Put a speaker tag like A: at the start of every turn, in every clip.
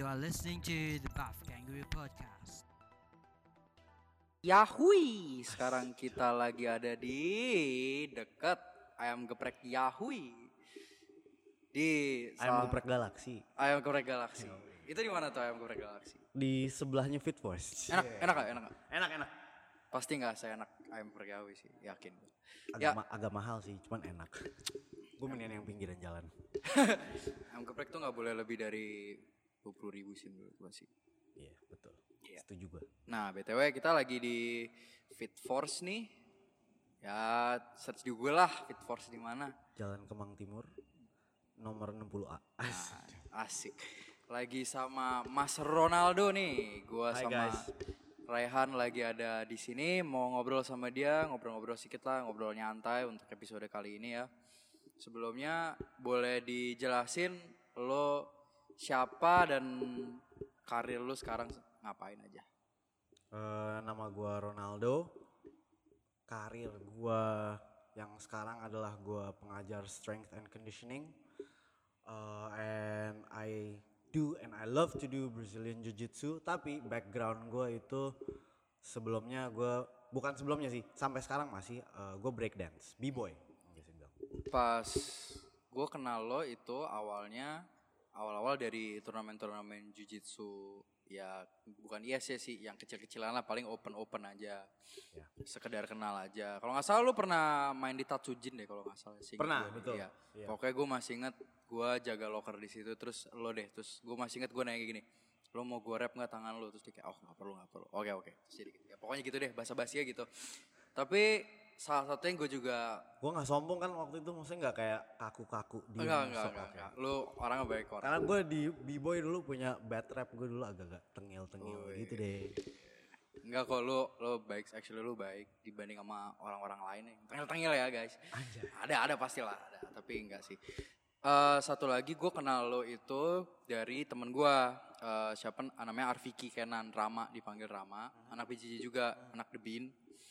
A: You are listening to the Buff Kangaroo Podcast.
B: Yahui, sekarang kita lagi ada di dekat Ayam Geprek Yahui. Di
C: Ayam Geprek Galaksi.
B: Ayam Geprek Galaksi. Itu di mana tuh Ayam Geprek Galaksi?
C: Di sebelahnya Fit Force.
B: Enak gak?
C: Enak.
B: Pasti nggak seenak Ayam Geprek Yahui sih, yakin.
C: Agak mahal sih, cuman enak. Gue mendingan yang pinggiran jalan.
B: Ayam Geprek tuh nggak boleh lebih dari 20.000 sih menurut gue sih.
C: Iya, betul.
B: Iya.
C: Setuju gue.
B: Nah, BTW kita lagi di Fit Force nih. Ya, search di Google lah Fit Force di mana.
C: Jalan Kemang Timur, nomor 60A.
B: Asik. Lagi sama Mas Ronaldo nih. Gua
C: Hai,
B: sama
C: guys.
B: Raihan lagi ada di sini mau ngobrol sama dia, ngobrol-ngobrol sedikit lah, ngobrol nyantai untuk episode kali ini ya. Sebelumnya boleh dijelasin lo siapa dan karir lo sekarang ngapain aja?
C: Nama gue Ronaldo. Karir gue yang sekarang adalah gue pengajar strength and conditioning. And I love to do Brazilian Jiu-Jitsu. Tapi background gue itu bukan sebelumnya sih, sampai sekarang masih gue breakdance, b-boy.
B: Pas gue kenal lo itu awal-awal dari turnamen jiu-jitsu ya, bukan IS sih, yang kecil-kecilan lah, paling open aja.
C: Ya.
B: Sekedar kenal aja. Kalau nggak salah lo pernah main di Tatsujin deh kalau nggak salah sih.
C: Pernah, betul.
B: Iya.
C: Iya.
B: Pokoknya gue masih inget gue jaga locker di situ, terus gue masih inget gue nanya gini, lo mau gue rap nggak tangan lo? Terus dia kayak nggak perlu. Oke. Terus jadi ya, pokoknya gitu deh, basa-basinya gitu. Tapi salah satunya gue juga
C: Gue gak sombong kan waktu itu, maksudnya gak kayak kaku-kaku di
B: enggak. Lu orangnya baik orang.
C: Karena gue di b-boy dulu punya bad rap, gue dulu agak-agak tengil-tengil gitu deh.
B: Enggak kok, lu baik, actually lu baik dibanding sama orang-orang lain ya. Tengil-tengil ya guys.
C: Anjay.
B: Ada pastilah ada, tapi enggak sih. Satu lagi gue kenal lo itu dari temen gue, siapa namanya Arviki Kenan, Rama, dipanggil Rama, anak PJJ juga, anak The Bean.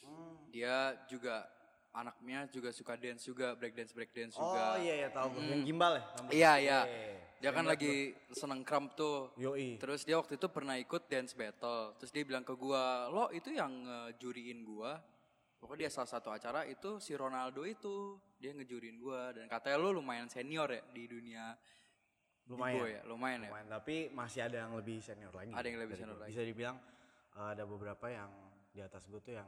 B: Dia juga anaknya juga suka dance juga, breakdance juga.
C: Oh iya tahu gue, yang gimbal ya?
B: Iya. Dia kan lagi seneng krump tuh.
C: Yoi.
B: Terus dia waktu itu pernah ikut dance battle. Terus dia bilang ke gua, lo itu yang ngejuriin gua. Pokoknya dia salah satu acara itu si Ronaldo itu. Dia ngejuriin gua. Dan katanya lo lumayan senior ya di dunia
C: Lumayan.
B: ya? Lumayan ya.
C: Tapi masih ada yang lebih senior lagi.
B: Ada yang lebih
C: dari
B: senior
C: gue.
B: lagi.
C: Bisa dibilang ada beberapa yang di atas gue tuh yang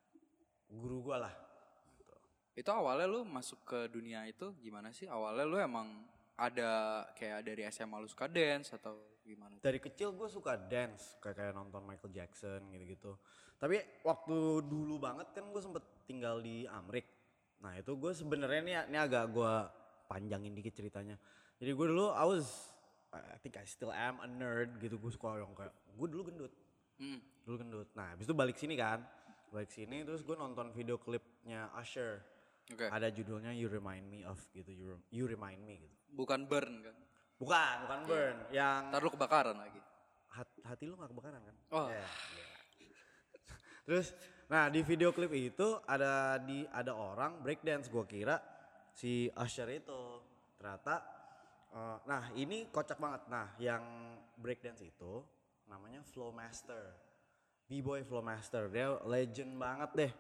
C: guru gue lah. Gitu.
B: Itu awalnya lo masuk ke dunia itu gimana sih? Awalnya lo emang ada kayak dari SMA lo suka dance atau gimana?
C: Dari kecil gue suka dance, kayak nonton Michael Jackson gitu-gitu. Tapi waktu dulu banget kan gue sempet tinggal di Amrik. Nah itu gue sebenarnya ini agak gue panjangin dikit ceritanya. Jadi gue dulu I think I still am a nerd gitu. Gue suka yang kayak, gue dulu gendut. Dulu gendut. Nah habis itu balik sini terus gue nonton video klipnya Usher.
B: Oke.
C: Ada judulnya You Remind Me of gitu, You Remind Me gitu.
B: Bukan burn kan?
C: Bukan burn. Yang
B: Ntar lu kebakaran lagi.
C: hati lu gak kebakaran kan?
B: Oh.
C: Yeah. Terus, nah di video klip itu ada orang breakdance, gue kira si Usher itu. Ternyata, nah ini kocak banget. Nah yang breakdance itu namanya Flowmaster, B-boy Flowmaster, dia legend banget deh.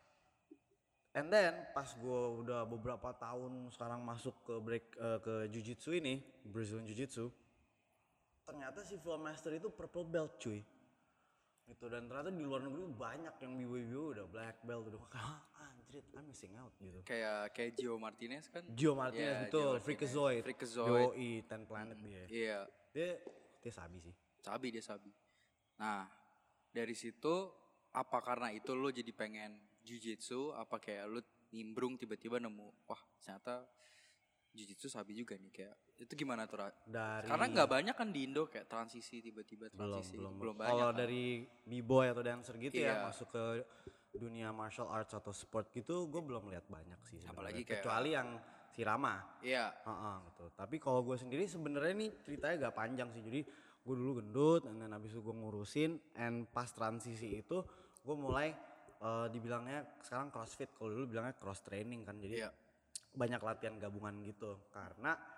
C: And then pas gue udah beberapa tahun sekarang masuk ke Jiu-Jitsu ini, Brazilian Jiu-Jitsu, ternyata si Flowmaster itu purple belt cuy. Gitu, dan ternyata di luar negeri banyak yang b-boy udah black belt, udah anjir, I'm missing out gitu.
B: Kayak Gio Martinez kan?
C: Gio Martinez, betul, Freakazoid. Yoi, 10 Planet dia.
B: Iya,
C: Dia sabi sih.
B: dia sabi. Nah, dari situ apa karena itu lo jadi pengen jiu-jitsu, apa kayak lo nimbrung tiba-tiba nemu, wah ternyata jiu-jitsu sabi juga nih, kayak itu gimana tuh? Karena nggak banyak kan di Indo kayak transisi tiba-tiba belum banyak.
C: Kalau
B: kan?
C: dari b-boy atau dancer gitu
B: Iya.
C: ya masuk ke dunia martial arts atau sport gitu, gue belum lihat banyak sih sebenarnya.
B: Apalagi kayak
C: kecuali yang si Rama.
B: Iya.
C: Gitu. Tapi kalau gue sendiri sebenarnya nih ceritanya gak panjang sih. Jadi gue dulu gendut, dan habis itu gue ngurusin, and pas transisi itu gue mulai dibilangnya sekarang CrossFit, kalau dulu bilangnya cross training kan. Jadi
B: Iya.
C: banyak latihan gabungan gitu. Karena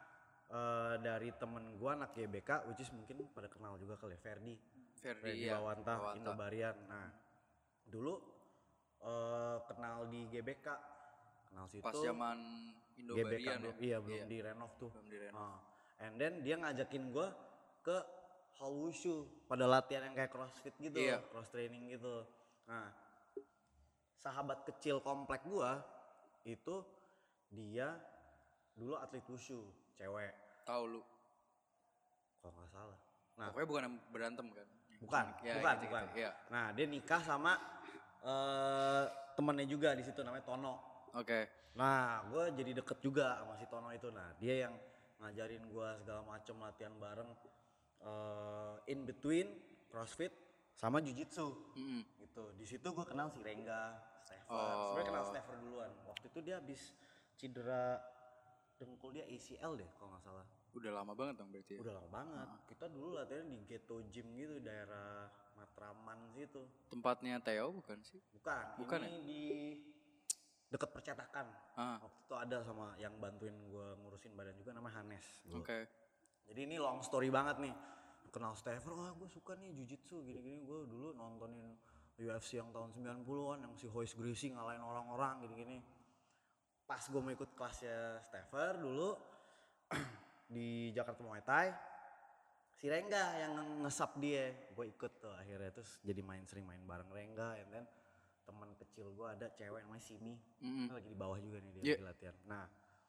C: dari temen gue anak GBK, which is mungkin pada kenal juga kali ya, Ferdi
B: iya.
C: Bawanta, Indobarian. Nah dulu kenal di GBK, kenal situ
B: Pas zaman Indobarian
C: GBK
B: ya.
C: belum direnov tuh.
B: Belum direnov.
C: And then dia ngajakin gue ke Hall Wushu pada latihan yang kayak crossfit gitu,
B: Iya.
C: cross training gitu. Nah sahabat kecil komplek gue itu dia dulu atlet wushu, cewek.
B: Tahu lu.
C: Kalau nggak salah. Nah,
B: Pokoknya bukan yang berantem kan?
C: bukan.
B: Iya.
C: Nah, dia nikah sama temennya juga di situ namanya Tono.
B: Oke.
C: Nah, gue jadi deket juga sama si Tono itu. Nah, dia yang ngajarin gue segala macem latihan bareng in between CrossFit sama Jiu-Jitsu. Gitu. Di situ gue kenal si Rengga, Stefan. Sebenarnya kenal Stefan duluan. Waktu itu dia habis cedera dengkul dia ACL deh kalau nggak salah.
B: Udah lama banget dong berarti ya?
C: Udah lama banget. Kita dulu latihan di Ghetto Gym gitu, daerah Matraman situ.
B: Tempatnya Theo bukan sih?
C: Bukan ini di dekat percetakan. Waktu itu ada sama yang bantuin gue ngurusin badan juga namanya Hanes.
B: Oke.
C: Jadi ini long story banget nih. Kenal Stefan, gue suka nih Jiu-Jitsu gini-gini. Gue dulu nontonin UFC yang tahun 90-an yang si Royce Gracie ngalahin orang-orang gini-gini. Pas gue mau ikut kelasnya Stefan dulu di Jakarta Muay Thai, si Rengga yang ngesap dia, gue ikut tuh akhirnya, terus jadi sering main bareng Rengga. And then teman kecil gue ada cewek namanya Simi, lagi di bawah juga nih dia lagi latihan. Nah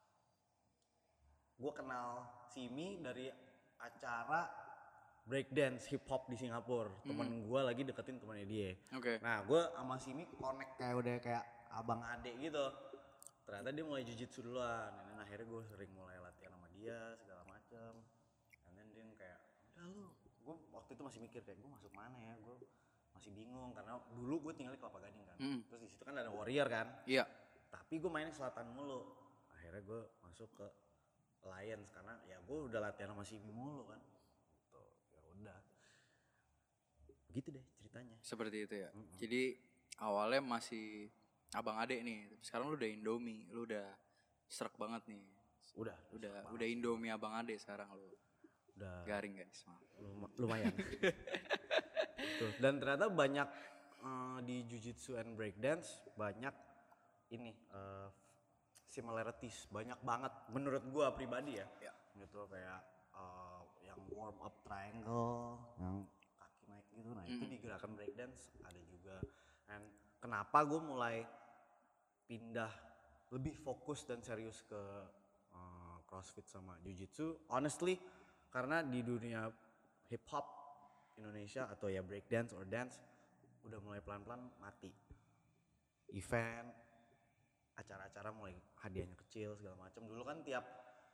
C: gue kenal Simi dari acara breakdance hip hop di Singapura. Temen gue lagi deketin temennya dia. Nah gue sama Simi connect kayak abang adek gitu. Ternyata dia mulai Jiu-Jitsu duluan, dan akhirnya gue sering mulai latihan sama dia segala macem. And then dia kayak, udah lu, gue waktu itu masih mikir kayak gue masuk mana ya, gue masih bingung karena dulu gue tinggal di Kelapa Gading kan. Terus di situ kan ada Warrior kan.
B: Iya.
C: Tapi gue mainnya selatan mulu. Akhirnya gue masuk ke Lions karena ya gue udah latihan sama Simi mulu kan. Tuh, ya udah. Begitu deh ceritanya.
B: Seperti itu ya. Jadi awalnya masih abang adek nih, sekarang lu udah Indomie, lu udah serak banget nih. Udah Indomie abang adek sekarang lu. Udah garing guys.
C: Lumayan. Tuh. Dan ternyata banyak di Jiu-Jitsu and Breakdance banyak ini similarities, banyak banget menurut gua pribadi ya. Gitu kayak yang warm up triangle, yang kaki naik gitu. Nah, itu di gerakan breakdance ada juga. Dan kenapa gue mulai pindah lebih fokus dan serius ke CrossFit sama Jiu-Jitsu, honestly karena di dunia hip hop Indonesia atau ya breakdance or dance udah mulai pelan-pelan mati. Event, acara-acara mulai hadiahnya kecil segala macam. Dulu kan tiap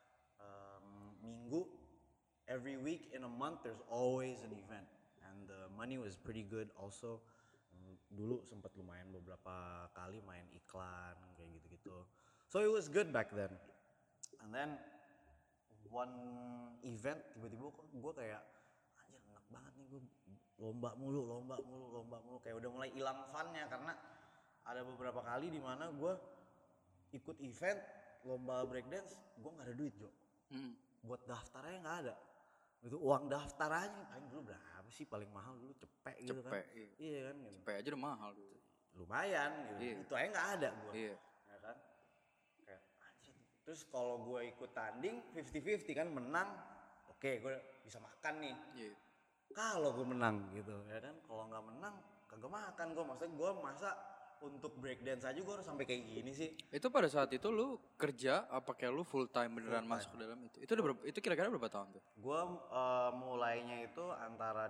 C: minggu, every week in a month there's always an event and the money was pretty good also. Dulu sempat lumayan beberapa kali main iklan kayak gitu-gitu. So it was good back then. And then one event tiba-tiba gue kayak anjir enak banget nih, gue lomba mulu kayak udah mulai hilang funnya karena ada beberapa kali di mana gue ikut event lomba breakdance gue nggak ada duit Jo. Buat daftarnya nggak ada. Itu uang daftar aja paling dulu berapa sih, paling mahal dulu cepet gitu kan. Iya kan gitu.
B: Cepet aja udah mahal dulu.
C: Lumayan gitu.
B: Iya.
C: Itu aja nggak ada gue.
B: Iya.
C: Ya kan. Kayak anjir. Terus kalau gue ikut tanding 50-50 kan, menang oke gue bisa makan nih.
B: Iya.
C: Kalau gue menang gitu ya kan. Kalau nggak menang kagak makan gue. Maksudnya gue masa untuk breakdance aja gue harus sampai kayak gini sih.
B: Itu pada saat itu lu kerja apa kayak lu full time beneran masuk ke dalam itu? Itu udah itu kira-kira berapa tahun tuh?
C: Gue mulainya itu antara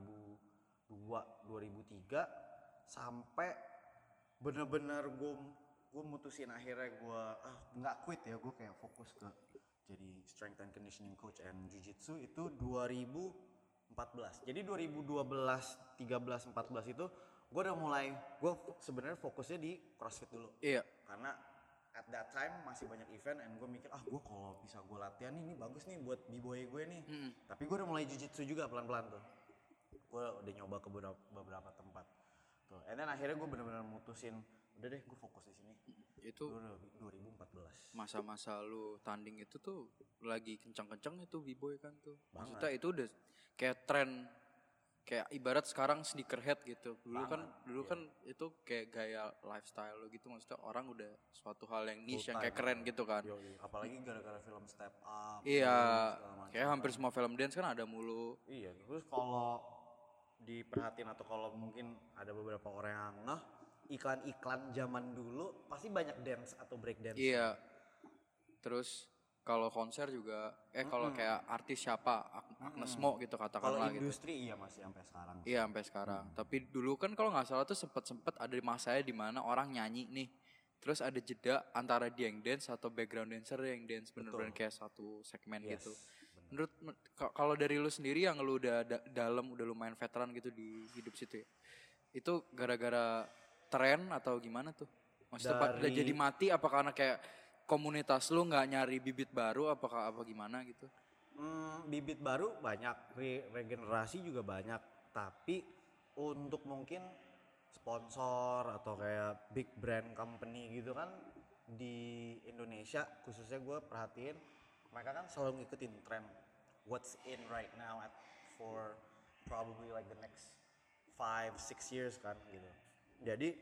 C: 2002-2003 sampai bener-bener gue mutusin akhirnya gue nggak quit ya, gue kayak fokus ke jadi strength and conditioning coach and jiu-jitsu itu 2014. Jadi 2012, 13, 14 itu gue udah mulai, gue sebenarnya fokusnya di CrossFit dulu.
B: Iya.
C: Karena at that time masih banyak event and gue mikir gue kalau bisa gue latihan ini bagus nih buat b-boy gue nih. Tapi gue udah mulai jiu-jitsu juga pelan-pelan tuh. Gue udah nyoba ke beberapa tempat. Tuh. And then akhirnya gue benar-benar mutusin udah deh gue fokus di sini.
B: Itu
C: 2014.
B: masa-masa lu tanding itu tuh lagi kencang-kencang itu b-boy kan tuh.
C: Banget.
B: Maksudnya itu udah kayak tren, kayak ibarat sekarang sneakerhead gitu. Dulu kan itu kayak gaya lifestyle lo gitu, maksudnya orang udah suatu hal yang niche yang kayak keren gitu kan.
C: Yoi. Apalagi gara-gara film Step Up.
B: Iya,
C: segala macam.
B: kayak hampir semua film dance kan ada mulu.
C: Iya, terus kalau diperhatiin atau kalau mungkin ada beberapa orang yang ngeh, iklan-iklan zaman dulu pasti banyak dance atau break dance.
B: Iya. Terus kalau konser juga kalau kayak artis siapa Agnes Mo gitu
C: Kalau
B: katakanlah gitu.
C: industri iya masih sampai sekarang.
B: Iya sampai sekarang. Tapi dulu kan kalau nggak salah tuh sempet ada masanya di mana orang nyanyi nih. Terus ada jeda antara dia yang dance atau background dancer yang dance bener-bener kayak satu segmen gitu. Menurut kalau dari lu sendiri yang lu udah dalam udah lumayan veteran gitu di hidup situ ya. Itu gara-gara tren atau gimana tuh? Maksudnya udah jadi mati apa karena kayak komunitas lu nggak nyari bibit baru apakah apa gimana gitu?
C: Bibit baru banyak, regenerasi juga banyak, tapi untuk mungkin sponsor atau kayak big brand company gitu kan di Indonesia khususnya gue perhatiin mereka kan selalu ngikutin tren what's in right now for probably like the next 5-6 years kan gitu. Jadi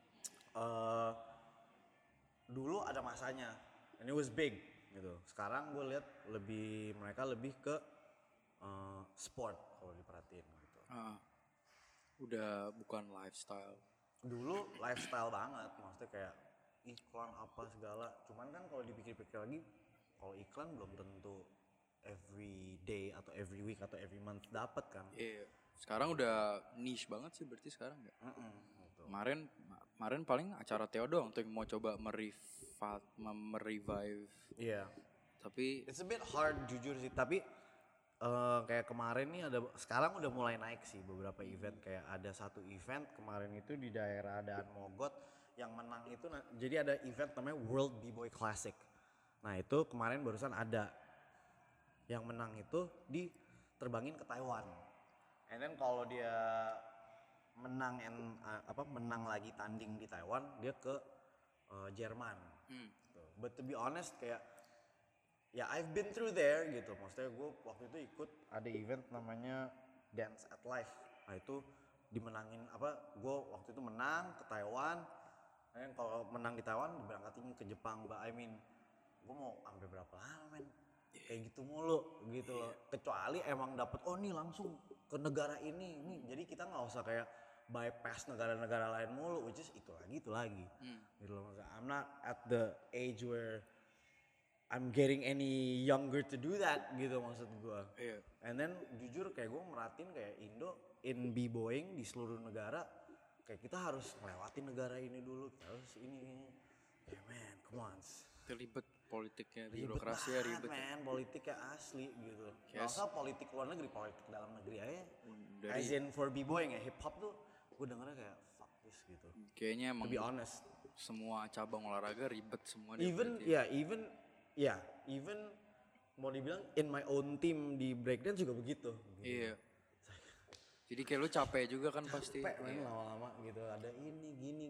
C: dulu ada masanya and it was big gitu. Sekarang gue lihat mereka lebih ke sport kalau diperhatiin gitu.
B: Udah bukan lifestyle.
C: Dulu lifestyle banget, maksudnya kayak iklan apa segala. Cuman kan kalau dipikir-pikir lagi, kalau iklan belum tentu every day atau every week atau every month dapat kan.
B: Iya. Sekarang udah niche banget sih berarti sekarang ya.
C: Gitu.
B: Kemarin paling acara Theo doang tuh yang mau coba merevive.
C: Iya.
B: Tapi
C: It's a bit hard jujur sih, tapi kayak kemarin nih sekarang udah mulai naik sih beberapa event. Kayak ada satu event kemarin itu di daerah Daan Mogot yang menang itu jadi ada event namanya World B-Boy Classic. Nah itu kemarin barusan ada yang menang itu diterbangin ke Taiwan. And then kalau dia menang menang lagi tanding di Taiwan dia ke Jerman. Gitu. But to be honest kayak ya I've been through there gitu. Maksudnya gue waktu itu ikut ada event namanya Dance at Life. Nah itu dimenangin gue waktu itu menang ke Taiwan. Dan kalau menang di Taiwan diberangkatin ke Jepang. But I mean gue mau sampai berapa lama men? Kayak gitu mulu gitu loh. Kecuali emang dapet nih langsung ke negara ini. Jadi kita nggak usah kayak bypass negara-negara lain mulu. Which is itu lagi. Gitu loh. I'm not at the age where I'm getting any younger to do that gitu maksud gue.
B: Iya.
C: And then jujur kayak gue merhatiin kayak Indo in b-boying di seluruh negara kayak kita harus ngelewatin negara ini dulu, kita harus ini. Yeah man, come on.
B: Ribet politiknya, birokrasinya ribet.
C: Man, politiknya asli gitu. Gak usah politik luar negeri, politik dalam negeri aja. As in for b-boying ya, hip hop tuh gue dengernya kayak fuck this gitu.
B: Kayaknya emang
C: To be honest.
B: semua cabang olahraga ribet semua.
C: Even mau dibilang in my own team di breakdance juga begitu.
B: Iya. Jadi kayak lu capek juga kan pasti.
C: Capek men lama-lama gitu. Ada ini gini.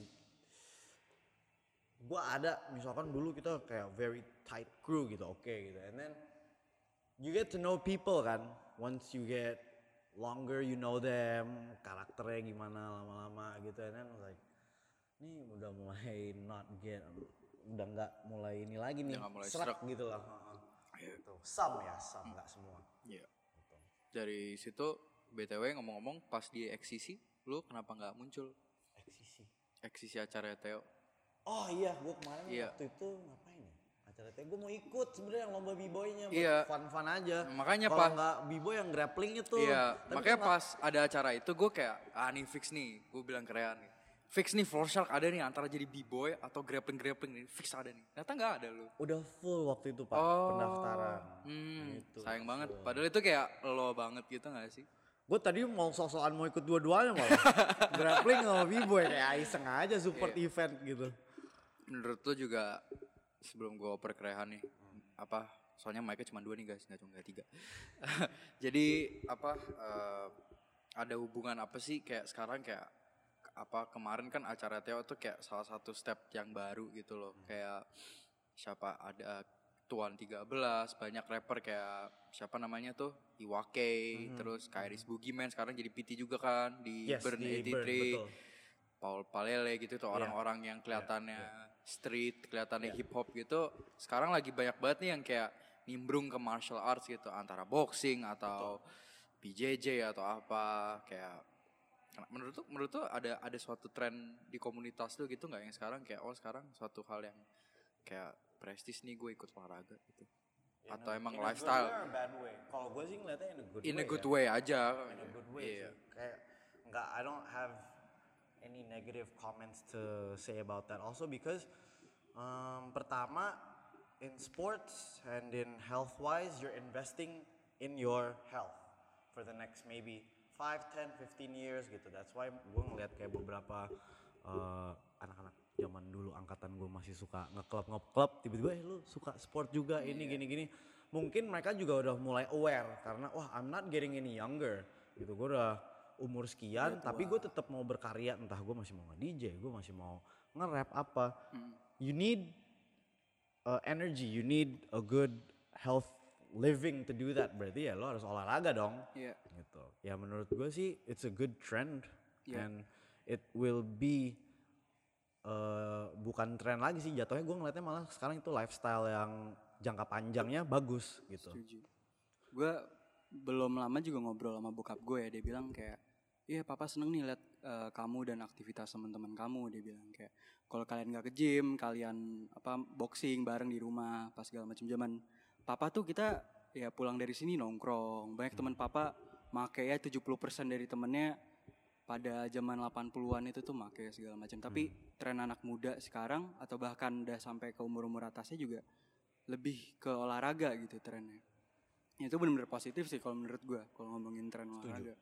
C: Gua ada misalkan dulu kita kayak very tight crew gitu, oke gitu. And then you get to know people kan. Once you get longer you know them, karakternya gimana lama-lama gitu. And then like ini udah mulai udah nggak mulai ini lagi nih, serak gitu lah. Gitu. Some nggak semua.
B: Iya. Gitu. Dari situ BTW ngomong-ngomong pas di eksisi, lu kenapa nggak muncul? Eksisi acara Theo.
C: Oh iya, gue kemarin waktu itu ngapain ya? Acara Theo gue mau ikut sebenarnya yang lomba b-boynya buat fun-fun aja.
B: Makanya
C: kalau nggak b-boy yang grappling itu.
B: Iya. Makanya pas ada acara itu gue kayak nih fix nih, gue bilang ke Rehan nih. Fix nih Floor Shark ada nih antara jadi b-boy atau grappling nih, fix ada nih. Ternyata nggak ada lu.
C: Udah full waktu itu Pak pendaftaran.
B: Gitu. Sayang banget. Padahal itu kayak lo banget gitu nggak sih?
C: Gue tadi mau sok-sokan mau ikut dua-duanya malah. Grappling sama b-boy kayak iseng aja support event gitu.
B: Menurut lo juga sebelum gue oper ke Rehan nih, soalnya mic-nya cuma 2 nih guys, nggak 3. Jadi ada hubungan apa sih kayak sekarang kayak kemarin kan acara Theo tuh kayak salah satu step yang baru gitu loh. Kayak siapa ada Tuan 13, banyak rapper kayak siapa namanya tuh Iwake, terus Kairis Boogieman sekarang jadi PT juga kan di
C: Yes,
B: Burn
C: di
B: 83,
C: Burn, betul.
B: Paul Palele gitu tuh orang-orang yang kelihatannya street, kelihatannya hip hop gitu. Sekarang lagi banyak banget nih yang kayak nimbrung ke martial arts gitu, antara boxing atau BJJ atau apa. Kayak menurut tuh ada suatu tren di komunitas lu gitu nggak yang sekarang kayak sekarang suatu hal yang kayak prestis nih gue ikut olahraga gitu. Atau emang lifestyle?
C: In a good way or a bad way? Kalau gue sih ngeliatnya
B: In a good way aja.
C: In a good way
B: Iya.
C: sih. Kayak nggak, I don't have any negative comments to say about that. Also because pertama in sports and in health wise, you're investing in your health for the next maybe 5, 10, 15 years gitu. That's why gue ngeliat kayak beberapa anak-anak zaman dulu angkatan gue masih suka ngeklub, tiba-tiba lu suka sport juga ini gini-gini. Mungkin mereka juga udah mulai aware karena I'm not getting any younger gitu. Gue udah umur sekian tapi gue tetap mau berkarya, entah gue masih mau nge-DJ, gue masih mau nge-rap apa. You need energy, you need a good health living to do that. Berarti ya lo harus olahraga dong.
B: Iya.
C: Gitu. Ya menurut gue sih it's a good trend and
B: Yeah.
C: it will be bukan tren lagi sih jatuhnya. Gue ngeliatnya malah sekarang itu lifestyle yang jangka panjangnya bagus gitu.
D: Setuju. Gue belum lama juga ngobrol sama bokap gue ya, dia bilang kayak, iya papa seneng nih liat kamu dan aktivitas teman-teman kamu. Dia bilang kayak kalau kalian nggak ke gym, kalian boxing bareng di rumah pas segala macam. Zaman papa tuh kita ya pulang dari sini nongkrong. Banyak teman papa make ya 70% dari temennya pada zaman 80-an itu tuh make segala macam. Tapi tren anak muda sekarang atau bahkan udah sampai ke umur-umur atasnya juga lebih ke olahraga gitu trennya. Itu benar-benar positif sih kalau menurut gue kalau ngomongin tren olahraga.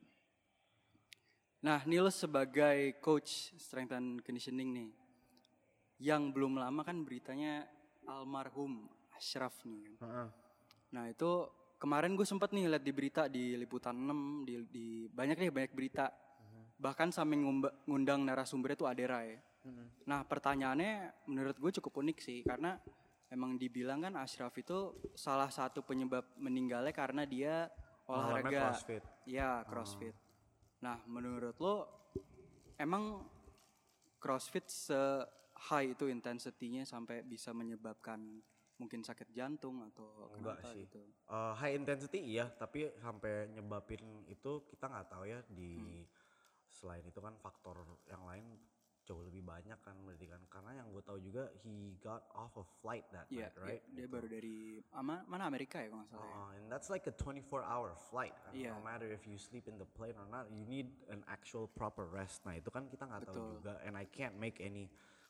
D: Nah, Nils sebagai coach strength and conditioning nih, yang belum lama kan beritanya almarhum Ashraf nih kan. Nah itu kemarin gue sempet nih lihat di berita di Liputan 6, di banyak berita. Bahkan sampai ngundang narasumbernya tuh Adera ya. Nah pertanyaannya menurut gue cukup unik sih karena emang dibilang kan Ashraf itu salah satu penyebab meninggalnya karena dia olahraga.
C: CrossFit.
D: Iya, CrossFit. Nah, menurut lo emang CrossFit se-high itu intensity-nya sampai bisa menyebabkan mungkin sakit jantung atau
C: Enggak
D: kenapa
C: sih.
D: gitu?
C: High intensity iya, tapi sampai nyebabin itu kita nggak tahu ya. Di selain itu kan faktor yang lain jauh lebih banyak kan berarti kan, karena yang gue tahu juga he got off a flight that
D: Iya,
C: night, right?
D: dia
C: Gitu.
D: baru dari mana Amerika ya kalau nggak salah ya.
C: And that's like a 24-hour flight kan.
D: Iya.
C: No matter if you sleep in the plane or not, you need an actual proper rest. Nah itu kan kita nggak tahu
D: Betul.
C: juga, and I can't make any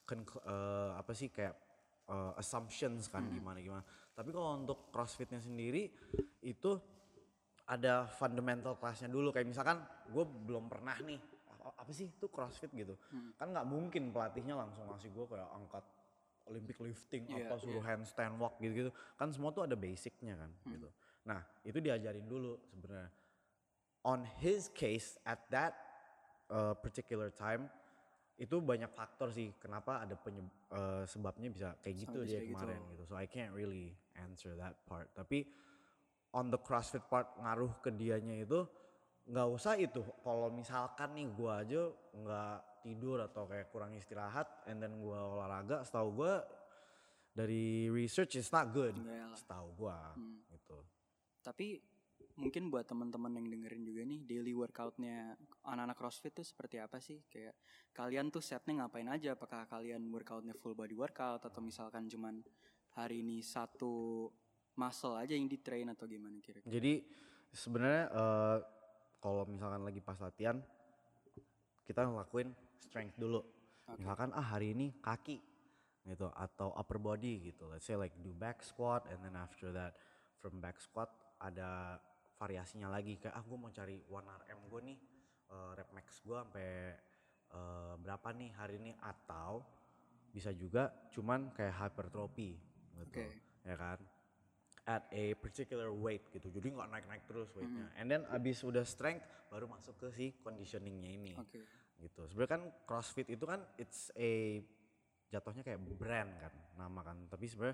C: assumptions kan gimana. Tapi kalau untuk CrossFitnya sendiri itu ada fundamental classnya dulu. Kayak misalkan gue belum pernah nih apa sih itu CrossFit gitu. Kan nggak mungkin pelatihnya langsung ngasih gue kayak angkat Olympic lifting
D: Iya,
C: suruh handstand walk gitu-gitu. Kan semua tuh ada basicnya kan gitu. Nah itu diajarin dulu sebenarnya. On his case at that particular time itu banyak faktor sih kenapa ada sebabnya bisa kayak gitu
D: Sampai
C: dia
D: kayak gitu.
C: kemarin gitu. So I can't really answer that part. Tapi on the CrossFit part ngaruh ke dianya itu nggak usah itu. Kalau misalkan nih gue aja nggak tidur atau kayak kurang istirahat and then gue olahraga, setahu gue dari research it's not good.
D: Enggak lah.
C: Setahu gue gitu.
D: Tapi mungkin buat teman-teman yang dengerin juga nih daily workoutnya anak-anak CrossFit tuh seperti apa sih? Kayak kalian tuh setnya ngapain aja? Apakah kalian workoutnya full body workout atau misalkan cuman hari ini satu muscle aja yang di train atau gimana kira-kira?
C: Jadi sebenarnya kalau misalkan lagi pas latihan kita ngelakuin strength dulu. Misalkan hari ini kaki gitu atau upper body gitu. Let's say like do back squat and then after that from back squat ada variasinya lagi kayak gue mau cari 1RM gue nih rep max gue sampai berapa nih hari ini, atau bisa juga cuman kayak hypertrophy gitu. Ya kan? At a particular weight gitu, jadi nggak naik-naik terus weightnya. And then abis udah strength baru masuk ke si conditioningnya ini. gitu. Sebenarnya kan CrossFit itu kan it's a jatuhnya kayak brand kan, nama kan. Tapi sebenarnya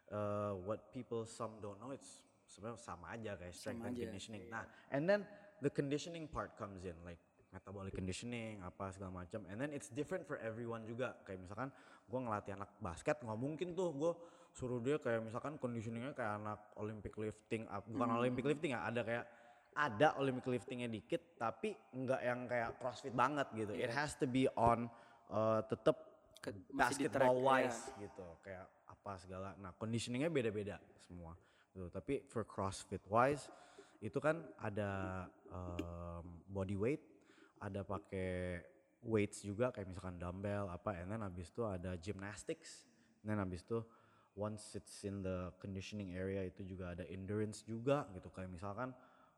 C: what people some don't know it's sebenarnya sama aja kayak strength
D: Sama
C: and
D: aja,
C: conditioning. Nah, and then the conditioning part comes in like metabolic conditioning apa segala macam. And then it's different for everyone juga. Kayak misalkan gue ngelatih anak basket nggak mungkin tuh gue suruh dia kayak misalkan conditioningnya kayak anak Olympic lifting, bukan Olympic lifting ya, ada Olympic liftingnya dikit tapi nggak yang kayak CrossFit banget gitu. It has to be on tetep
D: masih di track,
C: basketball wise gitu kayak apa segala. Nah conditioningnya beda-beda semua gitu. Tapi for CrossFit wise itu kan ada body weight, ada pakai weights juga kayak misalkan dumbbell apa, and then abis itu ada gymnastics, and then abis itu once it's in the conditioning area itu juga ada endurance juga gitu kayak misalkan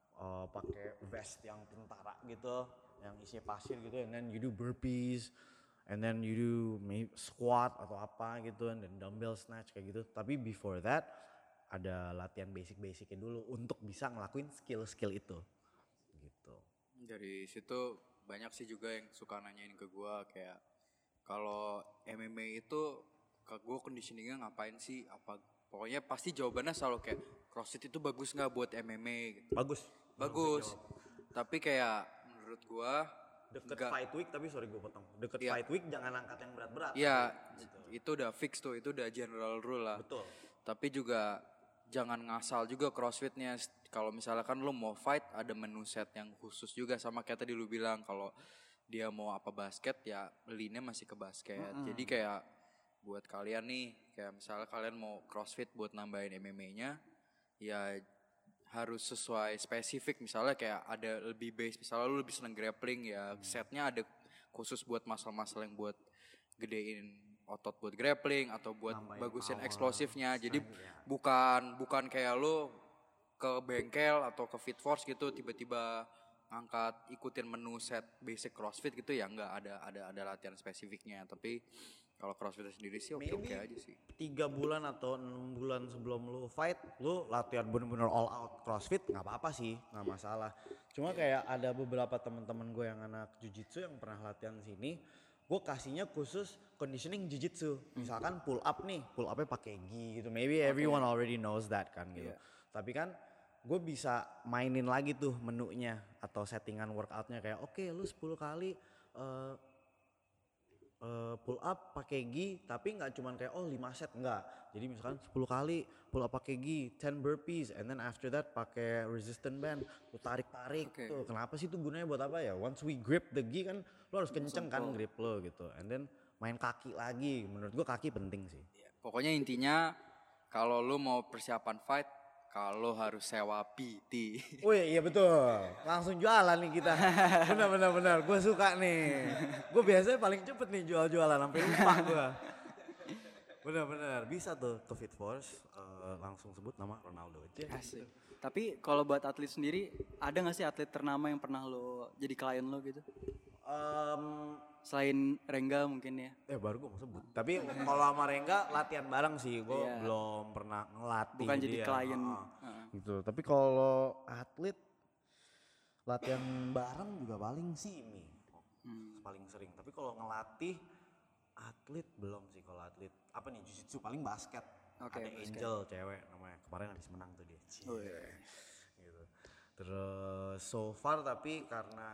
C: pakai vest yang tentara gitu yang isinya pasir gitu, and then you do burpees, and then you do maybe squat atau apa gitu, and then dumbbell snatch kayak gitu. Tapi before that ada latihan basic-basicnya dulu untuk bisa ngelakuin skill-skill itu gitu.
B: Dari situ banyak sih juga yang suka nanyain ke gue kayak kalau MMA itu ke gue conditioningnya ngapain sih, apa pokoknya pasti jawabannya selalu kayak CrossFit itu bagus nggak buat MMA gitu. Bagus. Tapi kayak menurut gue
C: Deket fight week, tapi sorry gue potong. Deket
B: Iya.
C: fight week jangan angkat yang berat-berat.
B: Iya,
C: gitu.
B: itu udah fix tuh, itu udah general rule lah.
C: Betul.
B: Tapi juga jangan ngasal juga CrossFitnya. Kalau misalkan lu mau fight ada menu set yang khusus juga, sama kayak tadi lu bilang kalau dia mau apa basket ya lean-nya masih ke basket. Jadi kayak buat kalian nih, kayak misalnya kalian mau CrossFit buat nambahin MMA-nya ya harus sesuai spesifik. Misalnya kayak ada lebih base, misalnya lu lebih seneng grappling ya setnya ada khusus buat muscle-muscle yang buat gedein otot buat grappling atau buat
C: Nambahin
B: bagusin
C: power,
B: eksplosifnya. Jadi
C: strength, ya.
B: bukan kayak lu ke bengkel atau ke Fit Force gitu tiba-tiba ngangkat ikutin menu set basic CrossFit gitu ya, enggak, ada latihan spesifiknya. Tapi kalau CrossFit sendiri sih oke aja sih.
C: 3 bulan atau 6 bulan sebelum lu fight, lu latihan bener-bener all out CrossFit nggak apa-apa sih, nggak masalah. Cuma kayak ada beberapa teman-teman gue yang anak jujitsu yang pernah latihan sini, gue kasihnya khusus conditioning jujitsu. Misalkan pull up nih, pull upnya pakai gi gitu. Maybe everyone already knows that kan gitu. Tapi kan gue bisa mainin lagi tuh menunya atau settingan workoutnya kayak oke, lu 10 kali pull up pakai gi, tapi nggak cuman kayak 5 set, enggak. Jadi misalkan 10 kali pull up pakai gi, 10 burpees, and then after that pakai resistant band, lu tarik-tarik tuh. Kenapa sih tuh gunanya buat apa ya? Once we grip the gi kan lu harus kenceng kan grip lo gitu. And then main kaki lagi, menurut gua kaki penting sih.
B: Pokoknya intinya kalau lu mau persiapan fight, kalau harus sewa PT.
C: Wih, iya betul. Langsung jualan nih kita. Benar. Gue suka nih. Gue biasanya paling cepet nih jualan sampai lupa gue. Benar. Bisa tuh ke Fit Force. Langsung sebut nama Ronaldo aja.
D: Asik. Tapi kalau buat atlet sendiri, ada gak sih atlet ternama yang pernah lo jadi klien lo gitu? Selain Rengga mungkin ya?
C: Baru gue mau sebut. Tapi kalau sama Rengga latihan bareng sih. Gue belum pernah ngelatih.
D: Bukan jadi
C: dia.
D: klien.
C: Gitu. Tapi kalau atlet latihan bareng juga paling Simi. Paling sering. Tapi kalau ngelatih atlet belum sih. Kalau atlet apa nih, jiu-jitsu paling basket.
D: Oke,
C: ada
D: basket.
C: Angel cewek namanya. Kemarin habis menang tuh dia. Gitu. Terus so far tapi karena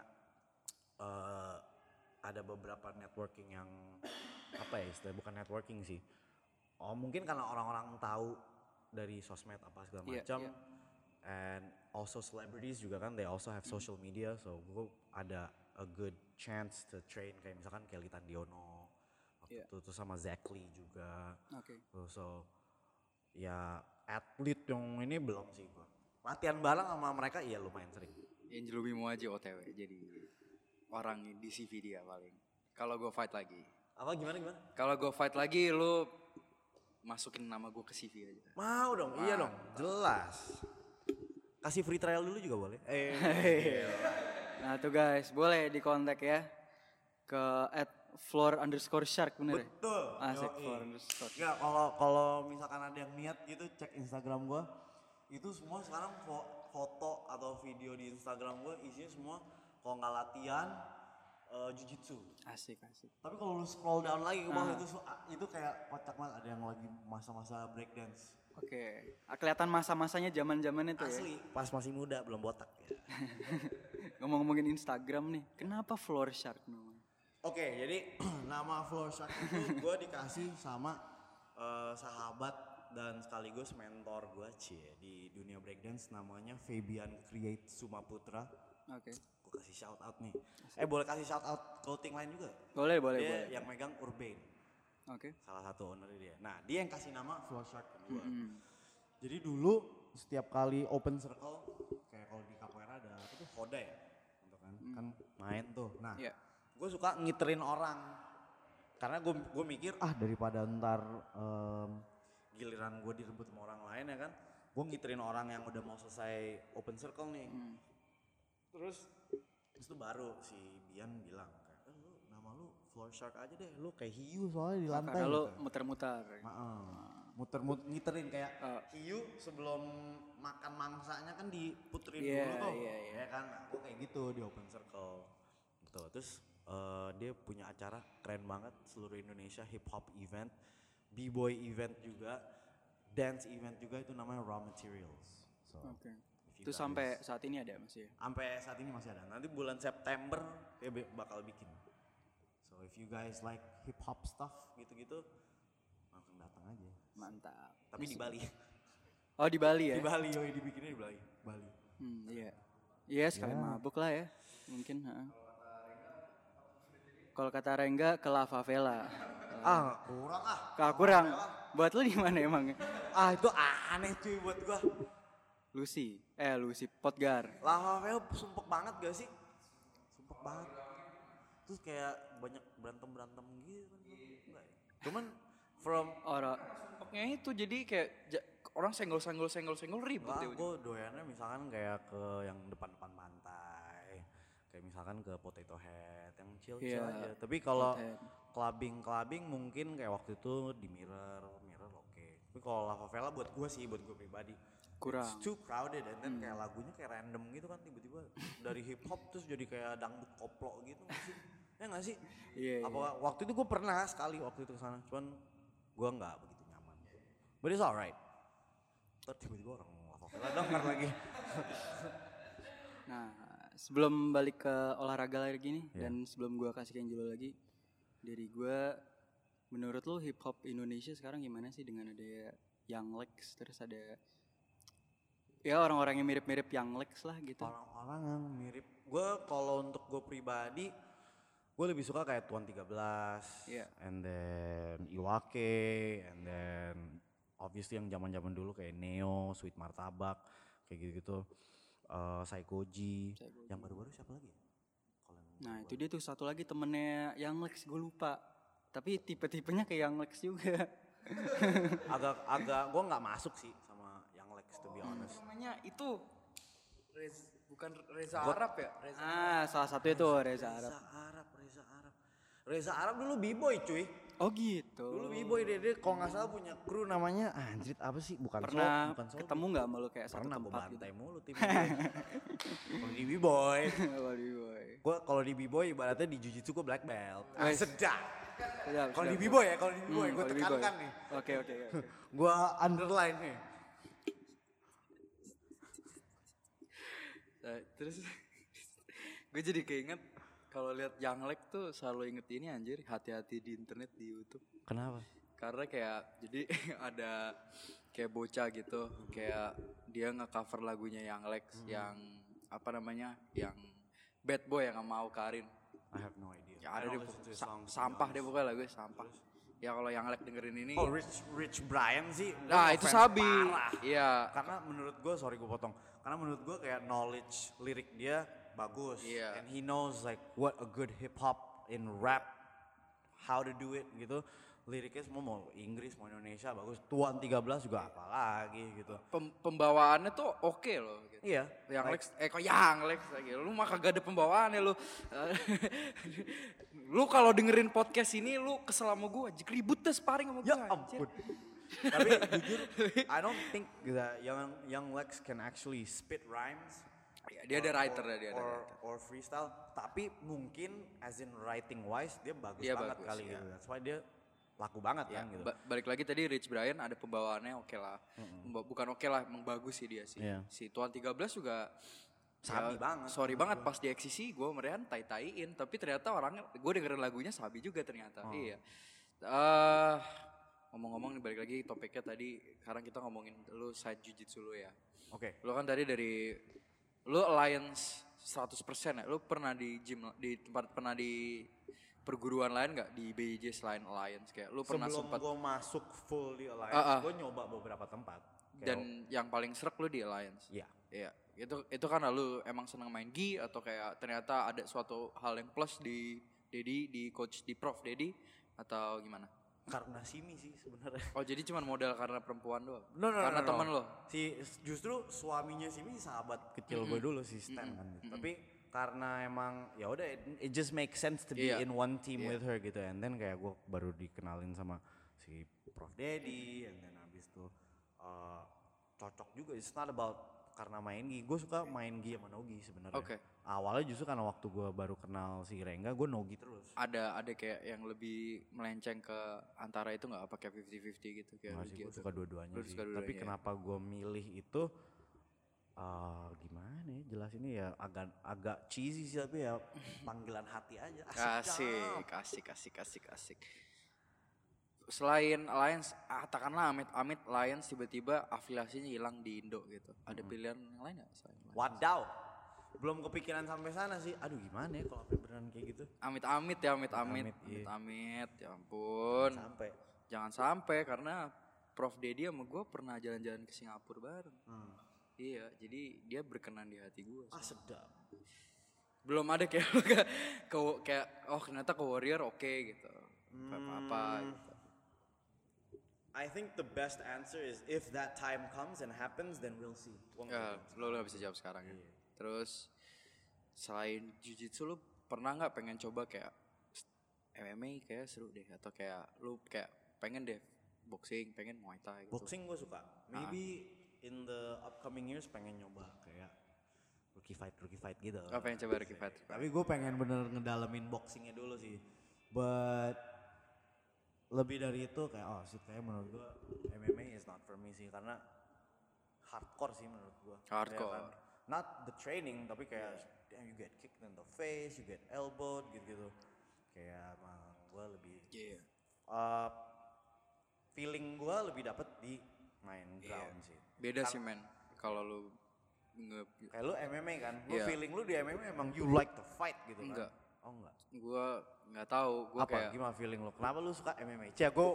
C: ada beberapa networking yang apa ya istilahnya, bukan networking sih. Mungkin karena orang-orang tahu dari sosmed apa segala macam. And also celebrities juga kan, they also have social media, so gue ada a good chance to train kayak misalkan Kelly Tandiono waktu itu, terus sama Zach Lee juga. So ya atlet yang ini belum sih gue. Latihan bareng sama mereka iya lumayan sering.
B: Angel Bimo aja OTW jadi orang di CV dia paling. Kalau gue fight lagi.
C: Apa gimana?
B: Kalau gue fight lagi lu masukin nama gue ke CV aja.
C: Mau dong, iya dong, jelas. Kasih free trial dulu juga boleh.
D: Nah tuh guys, boleh di kontak ya ke @floor_shark bener ya?
C: Betul.
D: Asik
C: Yoi.
D: floor_shark.
C: Ya kalau misalkan ada yang niat gitu cek Instagram gua. Itu semua sekarang foto atau video di Instagram gua isinya semua kalau nggak latihan jujitsu.
D: Asik.
C: Tapi kalau lu scroll down lagi ke bawah itu kayak kocak banget, ada yang lagi masa-masa breakdance.
D: Oke. Kelihatan masa-masanya zaman-zaman itu ya.
C: Asli, pas masih muda belum botak ya.
D: Ngomong-ngomongin Instagram nih, kenapa Floor Shark namanya?
C: Oke, jadi nama Floor Shark itu gue dikasih sama sahabat dan sekaligus mentor gue di dunia breakdance, namanya Fabian Create Sumaputra.
D: Oke.
C: Gue kasih shout out nih. Boleh kasih shout out clothing line juga?
D: Boleh.
C: Dia yang megang Urbane.
D: Oke.
C: Salah satu owner dia. Nah, dia yang kasih nama Floor Shark ke gue. Jadi dulu setiap kali open circle, kayak kalau di capoeira ada apa tuh, Hoda ya, gitu kan main tuh. Nah, gue suka ngiterin orang, karena gue mikir daripada ntar giliran gue direbut sama orang lain ya kan, gue ngiterin orang yang udah mau selesai open circle nih. Terus itu baru si Bian bilang kayak, lu nama lu Floor Shark aja deh, lu kayak hiu soalnya di lantai.
D: Karena
C: gitu.
D: lu muter-muter.
C: Muter-muter ngiterin kayak hiu sebelum makan mangsanya kan diputerin dulu tuh. Ya kan, nah, gue kayak gitu di open circle. Gitu. Terus dia punya acara keren banget, seluruh Indonesia hip hop event, b-boy event juga, dance event juga, itu namanya Raw Materials. So,
D: itu sampai saat ini ada masih ya?
C: Sampai saat ini masih ada. Nanti bulan September dia bakal bikin. So if you guys like hip hop stuff gitu-gitu, langsung datang aja.
D: Mantap.
C: Tapi di Bali.
D: Oh di Bali ya?
C: Di Bali, dibikinnya di Bali.
D: Iya. Iya sekali mabuk lah ya. Mungkin. Kalau kata Rengga ke La Favela. Kurang. Buat lu di mana emang?
C: Itu aneh cuy buat gua.
D: Lucy Potgar.
C: La Favela sumpek banget gak sih? Sumpek banget. Terus kayak banyak berantem gitu kan. Enggak ya? Cuman
B: Sumpeknya itu jadi kayak orang senggol ribut ya.
C: Gue doyannya misalkan kayak ke yang depan-depan pantai. Kayak misalkan ke Potato Head yang chill aja. Tapi kalau clubbing mungkin kayak waktu itu di Mirror oke. Tapi kalau La Favela buat gue pribadi
D: kurang.
C: It's too crowded and then kayak lagunya kayak random gitu kan, tiba-tiba dari hip hop terus jadi kayak dangdut koplo gitu sih. Ya enggak sih?
D: Iya.
C: Waktu itu gue pernah sekali waktu itu kesana, cuman gue nggak begitu nyaman. But it's alright. Terus tiba-tiba orang La Favela denger lagi.
D: Nah, sebelum balik ke olahraga lagi nih, dan sebelum gue kasih ke Angelo lagi, dari gue, menurut lo hip hop Indonesia sekarang gimana sih dengan ada Young Lex, terus ada ya orang-orang yang mirip-mirip Young Lex lah gitu.
C: Orang-orang yang mirip. Gue kalau untuk gue pribadi, gue lebih suka kayak Tuan 13, and then Iwake, and then obviously yang zaman-zaman dulu kayak Neo, Sweet Martabak, kayak gitu-gitu. Saikoji. Yang baru-baru siapa lagi?
D: Nah itu dia tuh satu lagi temennya Young Lex, gue lupa. Tapi tipe-tipenya kayak Young Lex juga.
C: agak gue nggak masuk sih sama Young Lex, to be honest.
B: Namanya itu bukan Reza Arab ya?
D: Salah satu itu Reza Arab.
C: Reza Arab dulu b-boy cuy.
D: Oh gitu.
C: Dulu b-boy dia kalau nggak salah punya kru namanya anjrit apa sih? Bukan
D: pernah
C: Soul.
D: Ketemu nggak sama lu kayak satu tempat
C: gitu? Pernah
D: gitu?
C: mulu tim. Kalau di b-boy. Gue kalau di b-boy ibaratnya di jiu-jitsu gue black belt. Sedap. Kalau di b-boy gue tekankan nih.
D: Oke.
C: Gue underline nih.
B: Terus gue jadi keinget kalau lihat Young Lex tuh selalu inget ini anjir, hati-hati di internet di YouTube.
C: Kenapa?
B: Karena kayak jadi ada kayak bocah gitu, kayak dia nge-cover lagunya Young Lex yang apa namanya, yang Bad Boy yang mau Karin.
C: I have no idea.
B: Ya ada sampah deh pokoknya lagu sampah. Ya kalau Young Lex dengerin ini.
C: Oh Rich Brian sih.
B: Nah itu sabi.
C: Iya. Karena menurut gue, sorry gue potong. Karena menurut gue kayak knowledge lirik dia bagus.
B: Iya.
C: And he knows like what a good hip hop in rap, how to do it gitu. Liriknya semua mau Inggris mau Indonesia bagus. Tuan 13 juga apalagi gitu.
B: Pembawaannya tuh oke loh. Gitu.
C: Iya.
B: Young Lex, kok Young Lex lagi. Lu mah kagak ada pembawaannya lu. Lu kalau dengerin podcast ini lu kesel sama gue, ribut deh sparring sama gue.
C: Ya ampun. Tapi jujur, I don't think that Young Lex can actually spit rhymes
B: Ya, dia ada writer ya, dia ada
C: or,
B: writer.
C: or freestyle, tapi mungkin as in writing wise dia bagus
B: Dia
C: banget
B: bagus,
C: kali
B: ya.
C: gitu. That's why dia laku banget
B: Ya,
C: kan gitu.
B: balik lagi tadi Rich Brian ada pembawaannya oke lah. Bukan oke lah, emang bagus sih dia sih.
C: Iya.
B: Si Tuan 13 juga
C: Sabi banget
B: Sorry
C: menurut
B: banget
C: gua.
B: pas di XCC gue merian tai-taiin, tapi ternyata orangnya gue dengerin lagunya Sabi juga ternyata. Iya. Ngomong-ngomong nih balik lagi topiknya tadi, sekarang kita ngomongin lu side jujitsu lu ya.
C: Oke.
B: Lu kan tadi dari lu alliance 100% ya. Lu pernah di gym di tempat pernah di perguruan lain nggak di BJJ selain alliance kayak lu pernah
C: Sebelum
B: sempat
C: gue masuk full di Alliance, gue nyoba beberapa tempat. Kayak,
B: dan yang paling serak lu di alliance.
C: iya.
B: Iya, itu kan lu emang seneng main gi atau kayak ternyata ada suatu hal yang plus di Dedi, di coach di Prof Dedi atau gimana?
C: Karena Simi sih sebenarnya.
B: Oh jadi cuma modal karena perempuan doang?
C: No,
B: Karena
C: no.
B: temen lo?
C: Justru suaminya Simi sahabat kecil gue dulu si Stan kan gitu. Tapi karena emang ya udah it just makes sense to be
B: Iya.
C: in one team with her gitu. And then kayak gue baru dikenalin sama si Prof Dedi, and then habis itu cocok juga. It's not about karena main gi. Gue suka main gi sama nogi sebenarnya.
B: Oke.
C: Awalnya justru karena waktu gue baru kenal si Rengga, gue nogi terus.
B: Ada kayak yang lebih melenceng ke antara itu nggak? Apa kayak 50-50 gitu? Kayak
C: Nggak sih,
B: gi
C: gue
B: atau-
C: suka dua-duanya
B: Lu
C: sih.
B: suka dua-duanya,
C: Tapi
B: ya.
C: kenapa gue milih itu gimana ya jelasinnya ya agak cheesy sih tapi ya panggilan hati aja.
B: Kasih. Selain Alliance, katakanlah amit Alliance tiba-tiba afiliasinya hilang di Indo gitu. Ada pilihan yang lain nggak selain Alliance?
C: Wadaw. Belum kepikiran sampai sana sih. Aduh gimana ya kalau sampai beneran kayak gitu.
B: Amit-amit ya,
C: Amit, iya.
B: amit-amit, ya ampun.
C: Sampai.
B: Jangan sampai karena Prof Dedi sama gue pernah jalan-jalan ke Singapura bareng. Iya, jadi dia berkenan di hati gue.
C: Sedap.
B: Belum ada kayak kayak oh ternyata ke Warrior oke gitu. Apa gitu.
C: I think the best answer is if that time comes and happens then we'll see.
B: Ya, lo gak bisa jawab sekarang ya. Terus selain jiu-jitsu lu pernah nggak pengen coba kayak MMA kayak seru deh atau kayak lu kayak pengen deh boxing, pengen Muay Thai gitu.
C: Boxing gue suka. Maybe in the upcoming years pengen nyoba kayak rookie fight gitu.
B: Oh, pengen coba Ricky Fight.
C: Tapi gue pengen bener ngedalamin boxingnya dulu sih. But lebih dari itu kayak sih kayak menurut gue MMA is not for me sih karena hardcore sih menurut gue.
B: Hardcore.
C: Not the training tapi kayak damn, you get kicked in the face, you get elbowed gitu-gitu. Kayak gue lebih
B: Iya.
C: feeling gue lebih dapet di main ground sih.
B: Beda sih men kalau lu
C: Kayak lu MMA kan, lu
B: Iya.
C: feeling lu di MMA emang you like to fight gitu kan?
B: Enggak.
C: Oh enggak.
B: gua nggak tahu, gua
C: Apa?
B: kayak
C: Gimana feeling lu? Kenapa lu suka MMA? Cia, gue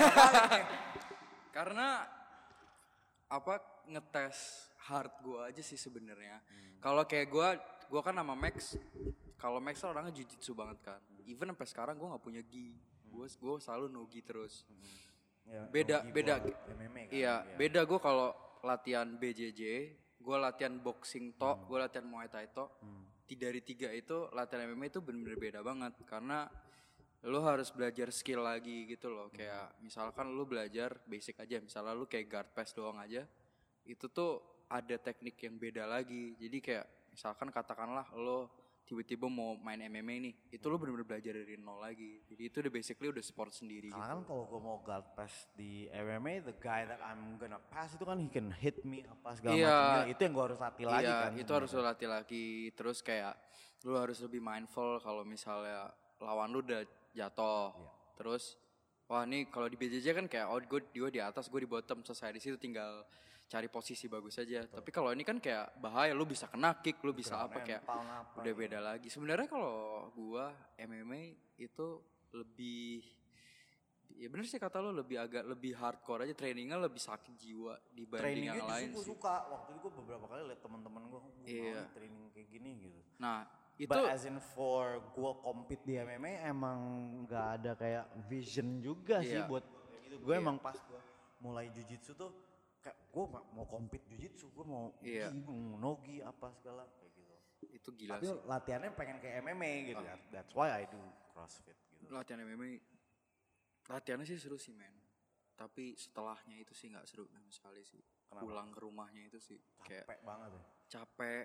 B: karena apa ngetes hard gua aja sih sebenarnya. Kalau kayak gua kan sama Max, kalau Max kan orangnya jiu-jitsu banget kan. Even sampai sekarang gua nggak punya gi. Gua selalu no gi terus.
C: Ya,
B: Beda
C: nogi
B: beda.
C: buat MMA kan?
B: Iya, beda gua kalau latihan BJJ, gua latihan boxing tok, gua latihan Muay Thai tok. Dari tiga itu latihan MMA itu bener-bener beda banget karena lu harus belajar skill lagi gitu loh. Kayak misalkan lu belajar basic aja, misalnya lu kayak guard pass doang aja, itu tuh ada teknik yang beda lagi. Jadi kayak misalkan katakanlah lu tiba-tiba mau main MMA nih, itu lu bener-bener belajar dari nol lagi. Jadi itu udah basically udah sport sendiri
C: Karena kan
B: gitu.
C: kalau gue mau guard pass di MMA, the guy that I'm gonna pass itu kan he can hit me apa segala
B: Iya.
C: macamnya. Itu yang gue harus latih lagi
B: Iya,
C: kan.
B: itu harus lu latih lagi. Terus kayak lu harus lebih mindful kalau misalnya lawan lu udah jatuh.
C: Iya.
B: Terus wah nih kalau di BJJ kan kayak gue di atas, gue di bottom, selesai di situ tinggal cari posisi bagus aja. Tapi kalau ini kan kayak bahaya, lu bisa kena kick, lu bisa apa kayak udah beda lagi. Sebenarnya kalau gua MMA itu lebih ya bener sih kata lu agak lebih hardcore aja, trainingnya lebih sakit jiwa dibanding yang lain
C: gue
B: sih.
C: suka. Waktu itu gue beberapa kali liat teman-teman gue
B: Iya.
C: training kayak gini gitu.
B: Nah, itu
C: But as in for gue compete di MMA emang nggak ada kayak vision juga sih
B: Iya.
C: buat kayak gitu. Gue emang pas gue mulai jujitsu tuh kayak gue mau compete jujitsu, gue mau
B: Iya.
C: gi, gua mau nogi apa segala kayak gitu.
B: itu gila
C: Tapi
B: sih.
C: latihannya pengen kayak MMA gitu. That's why I do CrossFit gitu.
B: Latihan MMA latihannya sih seru sih men, tapi setelahnya itu sih nggak seru sama sekali sih.
C: Kenapa?
B: Pulang ke rumahnya itu sih kayak
C: Capek banget ya.
B: capek,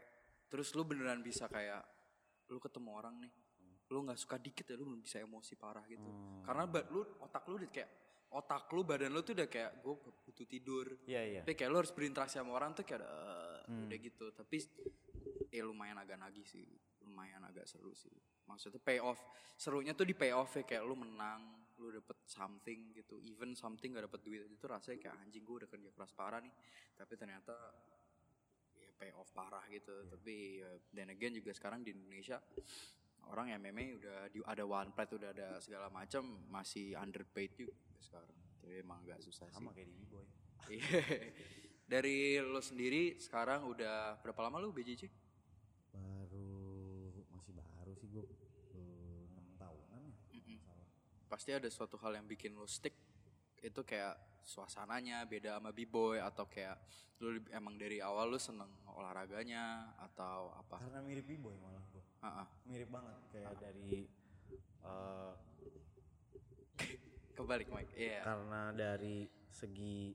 B: terus lu beneran bisa kayak lu ketemu orang nih, lu nggak suka dikit ya lu bisa emosi parah gitu. Karena otak lu udah kayak badan lu tuh udah kayak gue butuh tidur.
C: Iya.
B: Tapi kayak lu harus berinteraksi sama orang tuh kayak udah gitu. Tapi lumayan agak nagih sih, lumayan agak seru sih. Maksudnya payoff, serunya tuh di payoff ya, kayak lu menang, lu dapet something gitu. Even something gak dapet duit itu rasanya kayak anjing gue udah kerja keras parah nih. Tapi ternyata payoff parah gitu. Tapi then again juga sekarang di Indonesia orang yang MMA udah ada one plate, udah ada segala macam, masih underpaid juga sekarang. Tapi emang agak susah sih.
C: Sama kayak di B-boy.
B: Dari lo sendiri sekarang udah berapa lama lo BJJ?
C: Masih baru sih gue 6 tahunan ya. Salah.
B: Pasti ada suatu hal yang bikin lo stick. Itu kayak suasananya beda sama B-boy, atau kayak lu emang dari awal lu seneng olahraganya atau apa?
C: Karena mirip B-boy malah gue. Mirip banget kayak dari
B: kebalik Mike. Iya.
C: Karena dari segi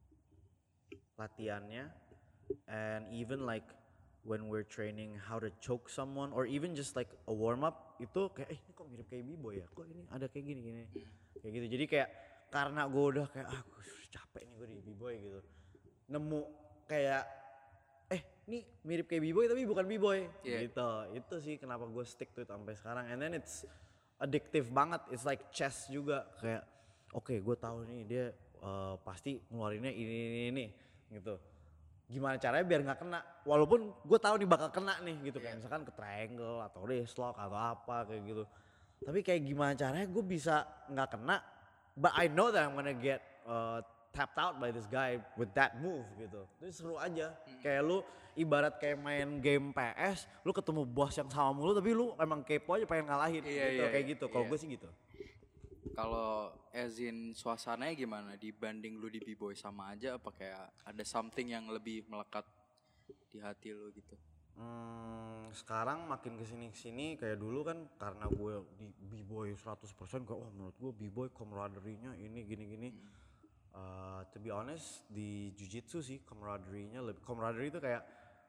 C: latihannya, and even like when we're training how to choke someone or even just like a warm up, itu kayak ini kok mirip kayak B-boy ya, kok ini ada kayak gini kayak gitu. Jadi kayak karena gue udah kayak gue capek nih gue di B-boy gitu, nemu kayak ini mirip kayak B-boy tapi bukan B-boy gitu. Itu sih kenapa gue stick to it sampai sekarang. And then it's addictive banget, it's like chess juga, kayak oke, gue tahu nih dia pasti ngeluarinnya ini gitu. Gimana caranya biar nggak kena, walaupun gue tahu nih bakal kena nih gitu, kayak misalkan ke triangle atau wrist lock atau apa kayak gitu. Tapi kayak gimana caranya gue bisa nggak kena, but I know that I'm gonna get tapped out by this guy with that move gitu. Itu seru aja. Kayak lu ibarat kayak main game PS, lu ketemu bos yang sama mulu tapi lu emang kepo aja pengen ngalahin gitu, kayak gitu. Kalau gue sih gitu.
B: Kalau as in suasananya gimana dibanding lu di B-boy, sama aja apa kayak ada something yang lebih melekat di hati lu gitu?
C: Sekarang makin kesini kayak dulu kan karena gue di B-boy 100% kayak menurut gue B-boy camaraderie-nya ini gini. To be honest di Jiu-Jitsu sih camaraderie-nya lebih, camaraderie itu kayak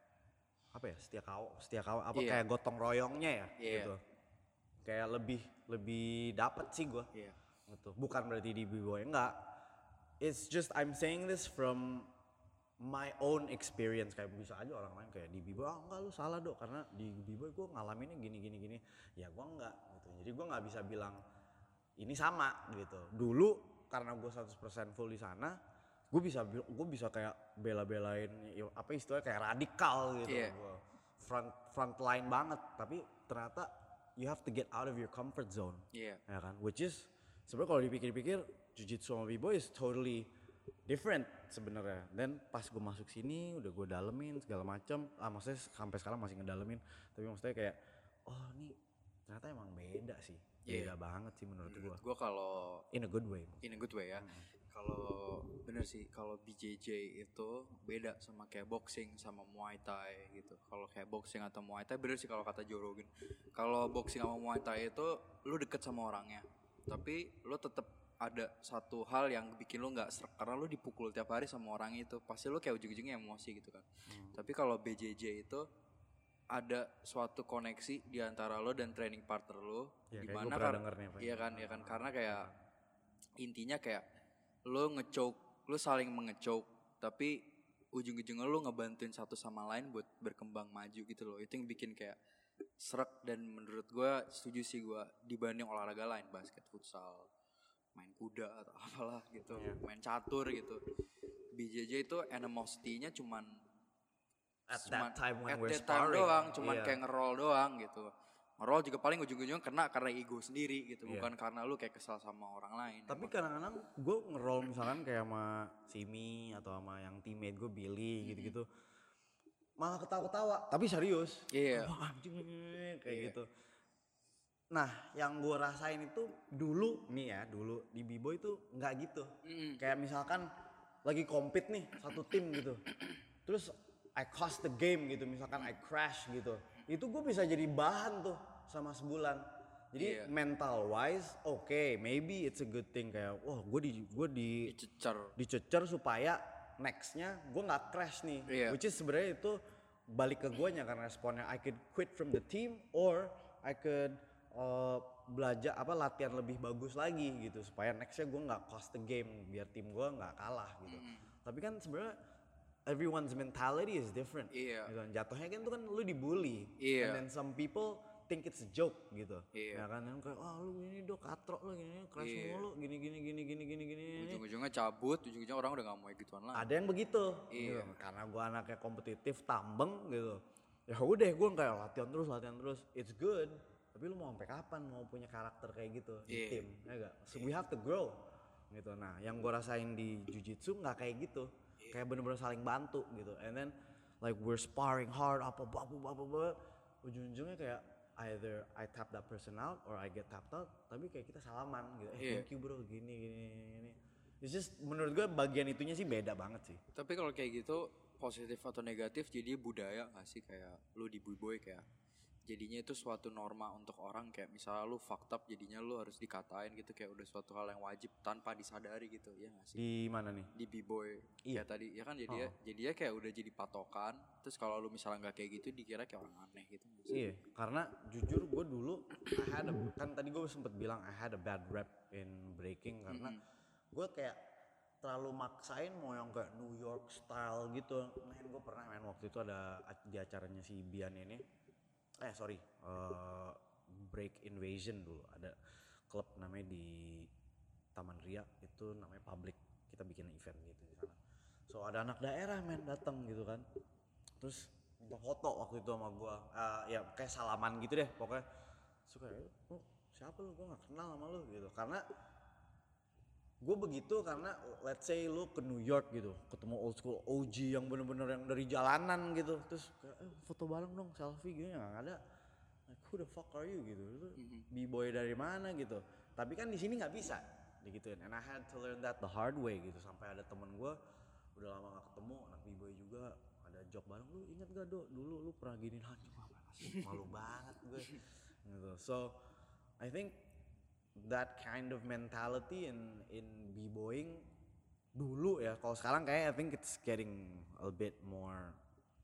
C: apa ya, setia kawan apa kayak gotong royongnya ya gitu. Kayak lebih dapet sih gue gitu. Bukan berarti di B-boy enggak, it's just I'm saying this from my own experience. Kayak bisa aja orang lain kayak di B-boy enggak lu salah dok, karena di B-boy gue ngalaminnya gini ya gue enggak gitu. Jadi gue nggak bisa bilang ini sama gitu. Dulu karena gue 100% full di sana, gue bisa kayak bela-belain apa istilahnya kayak radikal gitu. Gua front line banget, tapi ternyata you have to get out of your comfort zone. Ya kan? Which is sebenarnya kalau dipikir-pikir Jiu-Jitsu sama B-boy is totally different sebenarnya. Dan pas gue masuk sini udah gue dalemin segala macam. Maksudnya sampai sekarang masih ngedalemin. Tapi maksudnya kayak ini ternyata emang beda sih. Beda banget sih menurut gue.
B: Gue kalau
C: in a good way
B: ya. Kalau bener sih, kalau BJJ itu beda sama kayak boxing sama Muay Thai gitu. Kalau kayak boxing atau Muay Thai bener sih kalau kata Joe Rogan. Kalau boxing sama Muay Thai itu lu deket sama orangnya, tapi lu tetap ada satu hal yang bikin lu nggak serak karena lu dipukul tiap hari sama orang itu. Pasti lu kayak ujung-ujungnya emosi gitu kan. Tapi kalau BJJ itu ada suatu koneksi di antara lo dan training partner lo,
C: ya,
B: dimana kan, iya kan, karena kayak intinya kayak lo nge-choke, lo saling menge-choke, tapi ujung-ujungnya lo ngebantuin satu sama lain buat berkembang maju gitu loh. Itu yang bikin kayak serak, dan menurut gue setuju sih gue, dibanding olahraga lain, basket, futsal, main kuda atau apalah gitu, main catur gitu. BJJ itu animosity-nya cuman
C: at that time when we're
B: sparring doang, cuman kayak ngerol doang gitu. Ngerol juga paling ujung-ujungnya kena karena ego sendiri gitu, bukan karena lu kayak kesal sama orang lain.
C: Tapi kadang-kadang gue ngerol misalkan kayak sama Simi atau sama yang teammate gue Billy gitu-gitu, malah ketawa-ketawa tapi serius. Anjing kayak gitu. Nah yang gue rasain itu dulu di B-boy itu nggak gitu. Kayak misalkan lagi compete nih satu tim gitu, terus I cost the game gitu, misalkan I crash gitu, itu gue bisa jadi bahan tuh sama sebulan. Jadi mental wise, maybe it's a good thing, kayak gue dicecer supaya nextnya gue nggak crash nih. Which is sebenarnya itu balik ke guanya kan responnya. I could quit from the team or I could belajar latihan lebih bagus lagi gitu supaya nextnya gue nggak cost the game biar tim gue nggak kalah gitu. Tapi kan sebenarnya everyone's mentality is different.
B: Iya.
C: Gitu. Jatuhnya kan itu kan lu dibully.
B: Iya.
C: And then some people think it's a joke gitu.
B: Iya.
C: Ya kan yang kayak lu ini katrok lu gini keras mulu gini.
B: Ujung-ujungnya cabut, ujung-ujungnya orang udah gak mau gituan lah.
C: Ada yang begitu.
B: Iya.
C: Gitu. Karena gue anaknya kompetitif, tambeng gitu. Ya udah gue kayak latihan terus. It's good. Tapi lu mau sampai kapan mau punya karakter kayak gitu di tim? Ya gak? So we have to grow. Gitu. Nah, yang gue rasain di Jiu-Jitsu nggak kayak gitu. Kayak bener-bener saling bantu gitu. And then like we're sparring hard apa. Ujung-ujungnya kayak either I tap that person out or I get tapped out. Tapi kayak kita salaman gitu. Thank you bro, gini. It's just menurut gue bagian itunya sih beda banget sih.
B: Tapi kalau kayak gitu positif atau negatif jadi budaya nggak sih kayak lu di B-boy kayak jadinya itu suatu norma untuk orang kayak misalnya lu fucked up jadinya lu harus dikatain gitu kayak udah suatu hal yang wajib tanpa disadari gitu ya nggak sih?
C: Di mana nih?
B: Di B-boy
C: Iya.
B: kayak tadi ya kan jadinya kayak udah jadi patokan terus kalau lu misalnya nggak kayak gitu dikira kayak orang aneh gitu nggak sih?
C: Iya, karena jujur gue dulu kan tadi gue sempet bilang I had a bad rep in breaking karena gue kayak terlalu maksain mau yang kayak New York style gitu. Gue pernah waktu itu ada di acaranya si Bian ini. Break Invasion dulu ada klub namanya di Taman Ria itu namanya Public, kita bikin event gitu di sana. So ada anak daerah datang gitu kan, terus minta foto waktu itu sama gua, ya kayak salaman gitu deh pokoknya. Suka siapa lu, gua nggak kenal sama lu gitu karena gue begitu karena let's say lu ke New York gitu ketemu old school OG yang bener-bener yang dari jalanan gitu terus kayak foto bareng dong selfie gitu nggak ada, like who the fuck are you gitu, lu B-boy dari mana gitu. Tapi kan di sini nggak bisa digituin, and I had to learn that the hard way gitu. Sampai ada temen gue udah lama nggak ketemu anak B-boy juga ada job bareng, lu inget gak dulu lu pernah giniin hancur malu banget gue gitu. So I think that kind of mentality in b-boying dulu ya. Kalau sekarang kayak I think it's getting a bit more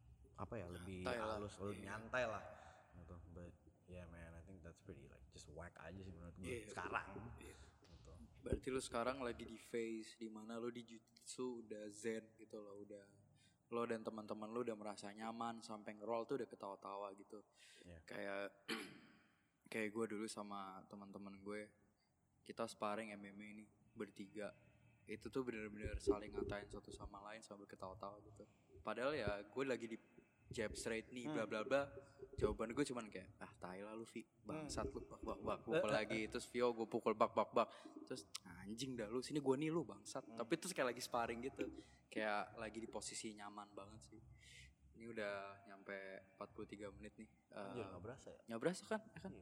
C: lebih halus, lebih nyantai lah gitu. But yeah man, I think that's pretty like just whack aja sih menurut gue sekarang. Gitu.
B: Berarti lu sekarang lagi di phase dimana lu di Jiu-Jitsu udah zen gitu loh, udah lo dan teman-teman lu udah merasa nyaman sampai nge-roll tuh udah ketawa-tawa gitu. Yeah. Kayak gue dulu sama teman-teman gue, kita sparring MMA ini bertiga, itu tuh bener-bener saling ngatain satu sama lain sambil ketawa-tawa gitu. Padahal ya gue lagi di jab straight nih bla bla bla, jawaban gue cuman kayak tai lah lu Vi, bangsat lu bak pukul lagi, terus Vio gue pukul bak terus anjing dah lu, sini gue nih lu bangsat. Tapi terus kayak lagi sparring gitu, kayak lagi di posisi nyaman banget sih. Ini udah nyampe 43 menit nih.
C: Anjir gak berasa ya?
B: Gak berasa kan? Ya kan?
C: Iya.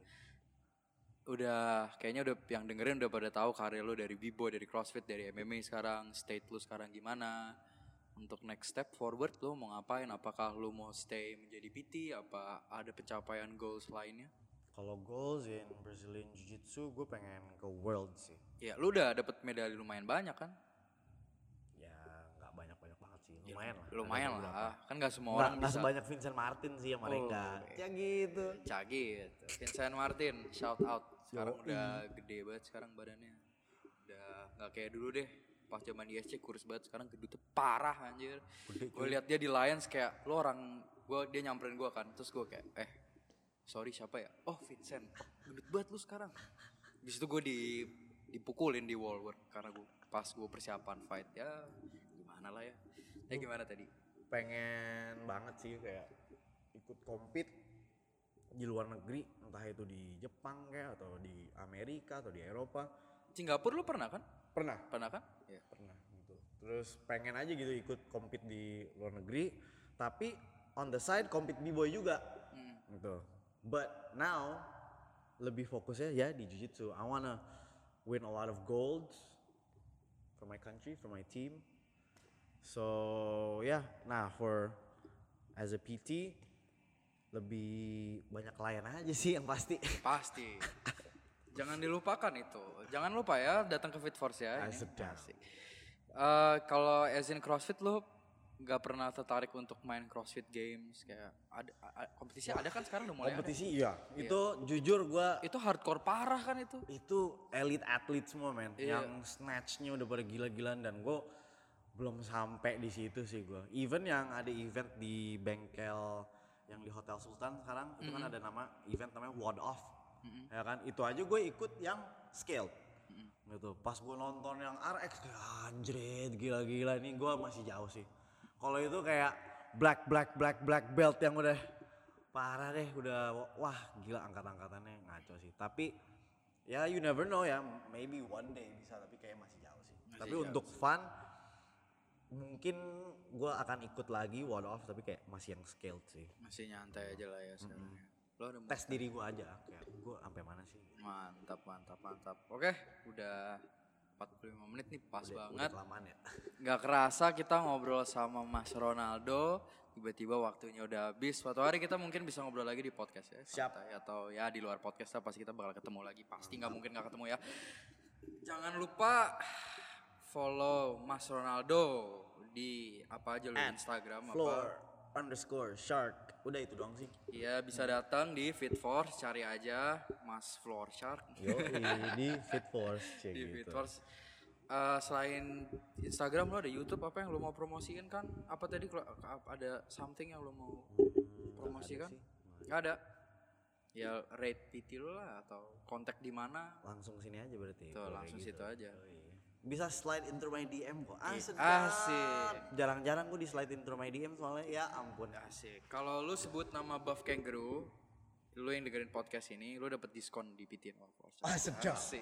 B: Udah kayaknya udah yang dengerin udah pada tahu karir lo dari B-boy, dari CrossFit, dari MMA sekarang, state lo sekarang gimana. Untuk next step forward lo mau ngapain? Apakah lo mau stay menjadi PT? Apa ada pencapaian goals lainnya?
C: Kalau goals in Brazilian Jiu-Jitsu gue pengen ke World sih.
B: Ya lo udah dapet medali lumayan banyak kan?
C: Ya nggak banyak-banyak banget sih, lumayan lah.
B: Lumayan lah, kan gak semua orang
C: Nggak
B: bisa.
C: Sebanyak Vincent Martin sih yang mereka. Ya gitu.
B: Cagit, Vincent Martin, shout out. Sekarang udah gede banget sekarang badannya. Udah gak kayak dulu deh. Pas zaman di SC kurus banget, sekarang gedutnya parah anjir. Gue lihat dia di Lions kayak lo orang, dia nyamperin gue kan, terus gue kayak sorry siapa ya? Oh Vincent, gendut banget lu sekarang. Habis itu gue dipukulin di wall work karena pas gue persiapan fight ya gimana lah ya. Gimana tadi?
C: Pengen banget sih kayak ikut compete di luar negeri, entah itu di Jepang kayak atau di Amerika atau di Eropa.
B: Singapura lu pernah kan?
C: Pernah
B: kan?
C: Ya pernah gitu. Terus pengen aja gitu ikut compete di luar negeri, tapi on the side compete b-boy juga gitu. But now lebih fokusnya ya di jiu-jitsu. I wanna win a lot of golds for my country, for my team. So yeah, nah as a PT lebih banyak klien aja sih yang pasti.
B: Pasti. Jangan dilupakan itu. Jangan lupa ya datang ke Fit Force ya.
C: Sedap.
B: Kalau as in CrossFit lo nggak pernah tertarik untuk main CrossFit Games kayak kompetisi ada kan sekarang udah mulai
C: Kompetisi iya. Itu jujur gua
B: itu hardcore parah kan itu.
C: itu elite atlet semua men.
B: Iya.
C: Yang snatchnya udah pada gila-gilaan dan gue belum sampai di situ sih gue. Even yang ada event di bengkel yang di Hotel Sultan sekarang itu kan ada event namanya Ward Off. Ya kan itu aja gue ikut yang scaled. Gitu. Pas gue nonton yang RX kayak anjrit gila-gila ini gue masih jauh sih. Kalau itu kayak black belt yang udah parah deh, udah wah gila angkat-angkatannya ngaco sih. Tapi ya you never know ya, maybe one day bisa tapi kayak masih jauh sih. Tapi untuk fun mungkin gue akan ikut lagi World of tapi kayak masih yang scaled sih.
B: Masih nyantai aja lah ya sekarang. Lo ada
C: Tes diri gue aja kayak gue sampai mana sih.
B: Mantap. Oke, udah 45 menit nih pas banget.
C: Udah kelamaan ya.
B: Gak kerasa kita ngobrol sama Mas Ronaldo. Tiba-tiba waktunya udah habis. Suatu hari kita mungkin bisa ngobrol lagi di podcast ya.
C: Siap.
B: Santai. Atau ya di luar podcast lah pasti kita bakal ketemu lagi. Pasti gak mungkin gak ketemu ya. Jangan lupa follow Mas Ronaldo di apa aja lo Instagram
C: Floor_shark. Udah itu doang sih.
B: Iya bisa datang di Fitforce, cari aja Mas Floor Shark.
C: Yo di Fitforce
B: Di
C: gitu.
B: Fitforce. Selain Instagram lo ada YouTube apa yang lo mau promosiin kan? Apa tadi kalau ada something yang lo mau promosikan? Nggak ada. Ya rate PT lo lah atau kontak di mana?
C: Langsung sini aja berarti.
B: Tuh
C: kalau
B: langsung
C: kayak
B: situ aja.
C: Oh, iya. Bisa slide into my DM kok.
B: Asik.
C: Jarang-jarang gue di slide into my DM soalnya ya ampun.
B: Asik. Kalau lu sebut nama Buff Kangaroo, lu yang dengerin podcast ini, lu dapet diskon di PT Force.
C: Sedap.
B: Asik.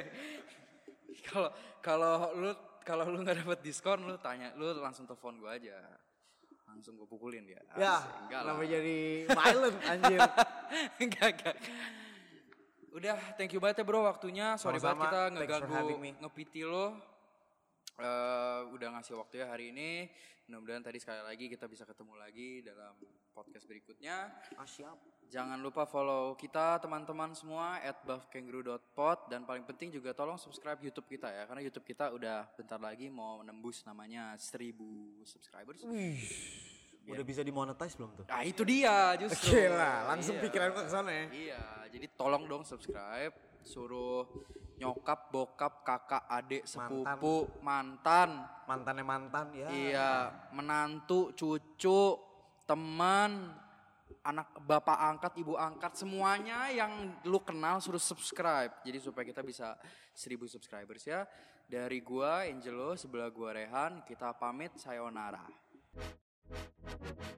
B: Kalau lu nggak dapet diskon, lu langsung telepon gue aja. Langsung gue pukulin dia.
C: Ya,
B: enggak lah.
C: kenapa jadi violent anjir.
B: Enggak. Udah, thank you banget ya bro waktunya. Sorry
C: Sama-sama.
B: banget kita
C: Thanks for having me.
B: ngeganggu nge-PT lo. Udah ngasih waktu ya hari ini. Mudah-mudahan tadi sekali lagi kita bisa ketemu lagi dalam podcast berikutnya.
C: Siap.
B: Jangan lupa follow kita teman-teman semua @buffkangaroo.pod dan paling penting juga tolong subscribe YouTube kita ya karena YouTube kita udah bentar lagi mau menembus namanya 1000 subscribers.
C: Udah bisa dimonetize belum tuh?
B: Nah itu dia justru.
C: Oke lah, langsung
B: Iya.
C: pikiran gue kesana ya.
B: Iya, jadi tolong dong subscribe, suruh nyokap, bokap, kakak, adik, sepupu, mantan.
C: Mantannya mantan ya.
B: Iya, menantu, cucu, teman, anak bapak angkat, ibu angkat, semuanya yang lu kenal suruh subscribe. Jadi supaya kita bisa 1000 subscribers ya. Dari gua Angelo, sebelah gua Rehan, kita pamit sayonara.